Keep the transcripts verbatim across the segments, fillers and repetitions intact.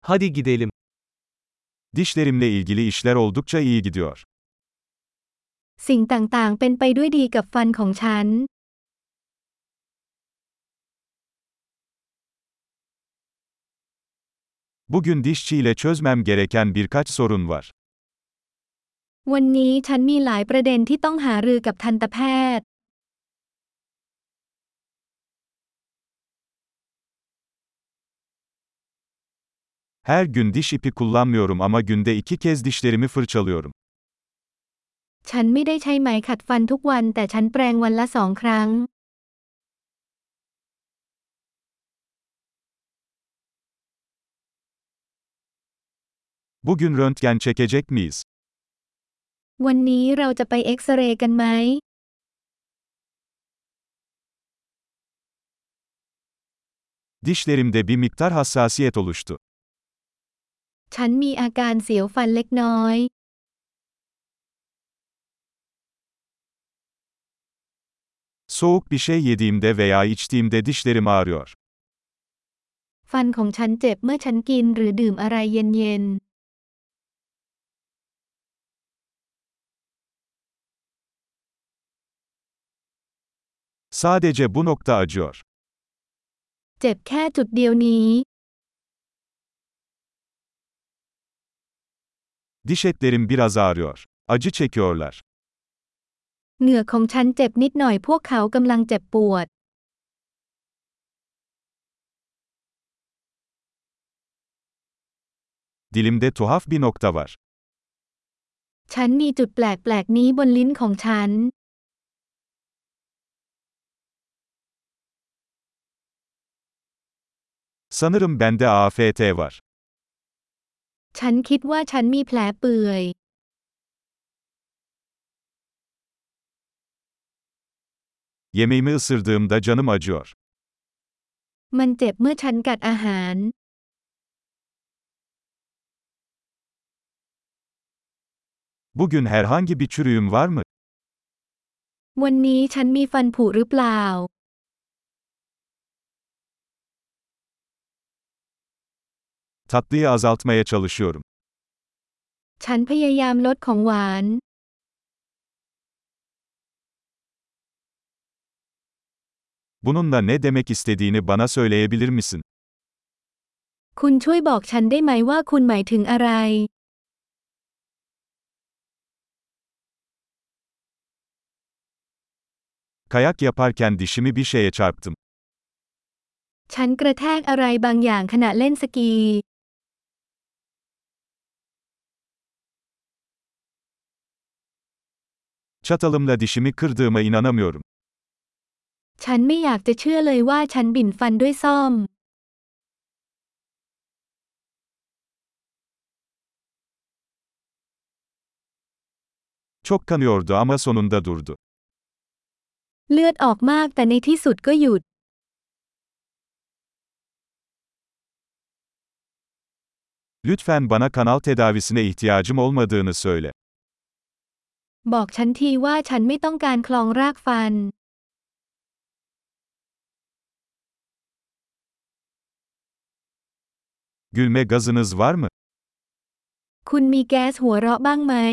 Hadi gidelim. Dişlerimle ilgili işler oldukça iyi gidiyor. สิ่งต่างๆเป็นไปด้วยดีกับฟันของฉัน Bugün dişçiyle çözmem gereken birkaç sorun var. วันนี้ฉันมีหลายประเด็นที่ต้องหารือกับทันตแพทย์ Her gün diş ipi kullanmıyorum ama günde iki kez dişlerimi fırçalıyorum. ฉันไม่ได้ใช้ไหมขัดฟันทุกวันแต่ฉันแปรงวันละสองครั้ง Bugün röntgen çekecek miyiz? วันนี้เราจะไปเอ็กซเรย์กันไหม Dişlerimde bir miktar hassasiyet oluştu. ฉันมีอาการเสียวฟันเล็กน้อย Soğuk bir şey yediğimde veya içtiğimde dişlerim ağrıyor. ฟันของฉันเจ็บเมื่อฉันกินหรือดื่มอะไรเย็น Sadece bu nokta acıyor. ๆ เจ็บแค่จุดเดียวนี้ Diş etlerim biraz ağrıyor. Acı çekiyorlar. เหงือกของฉันเจ็บนิดหน่อยพวกเขากำลังเจ็บปวด Dilimde tuhaf bir nokta var. ฉันมีจุดแปลกๆนี้บนลิ้นของฉัน Sanırım bende A F T var. ฉันคิดว่าฉันมีแผลเปื่อย Yemeğimi ısırdığımda canım acıyor. มันเจ็บเมื่อฉันกัดอาหาร Bugün herhangi bir çürüğüm var mı? วันนี้ฉันมีฟันผุหรือเปล่า Tatlıyı azaltmaya çalışıyorum. ฉันพยายามลดของหวาน Bununla ne demek istediğini bana söyleyebilir misin? คุณช่วยบอกฉันได้ไหมว่าคุณหมายถึงอะไร Kayak yaparken dişimi bir şeye çarptım. ฉันกระแทกอะไรบางอย่างขณะเล่นสกี Çatalımla dişimi kırdığıma inanamıyorum. ฉันไม่อยากจะเชื่อเลยว่าฉันบิ่นฟันด้วยส้อม Çok kanıyordu ama sonunda durdu. เลือดออกมากแต่ในที่สุดก็หยุด Lütfen bana kanal tedavisine ihtiyacım olmadığını söyle. บอกฉันทีว่าฉันไม่ต้องการคลองรากฟัน Gülme gazınız var mı? คุณมีแก๊สหัวเราะบ้างไหม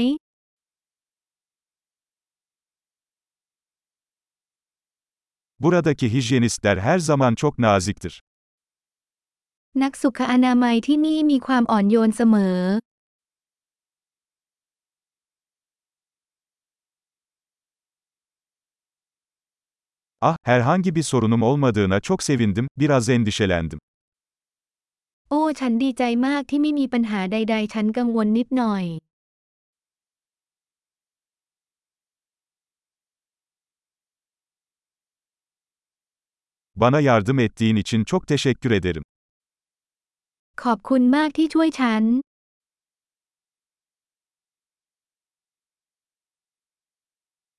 Buradaki hijyenistler her zaman çok naziktir. นักสุขอนามัยที่นี่มีความอ่อนโยนเสมอ Ah, herhangi bir sorunum olmadığına çok sevindim, biraz endişelendim. โอ้ ฉันดีใจมากที่ไม่มีปัญหาใดๆ ฉันกังวลนิดหน่อย Bana yardım ettiğin için çok teşekkür ederim. ขอบคุณมากที่ช่วยฉัน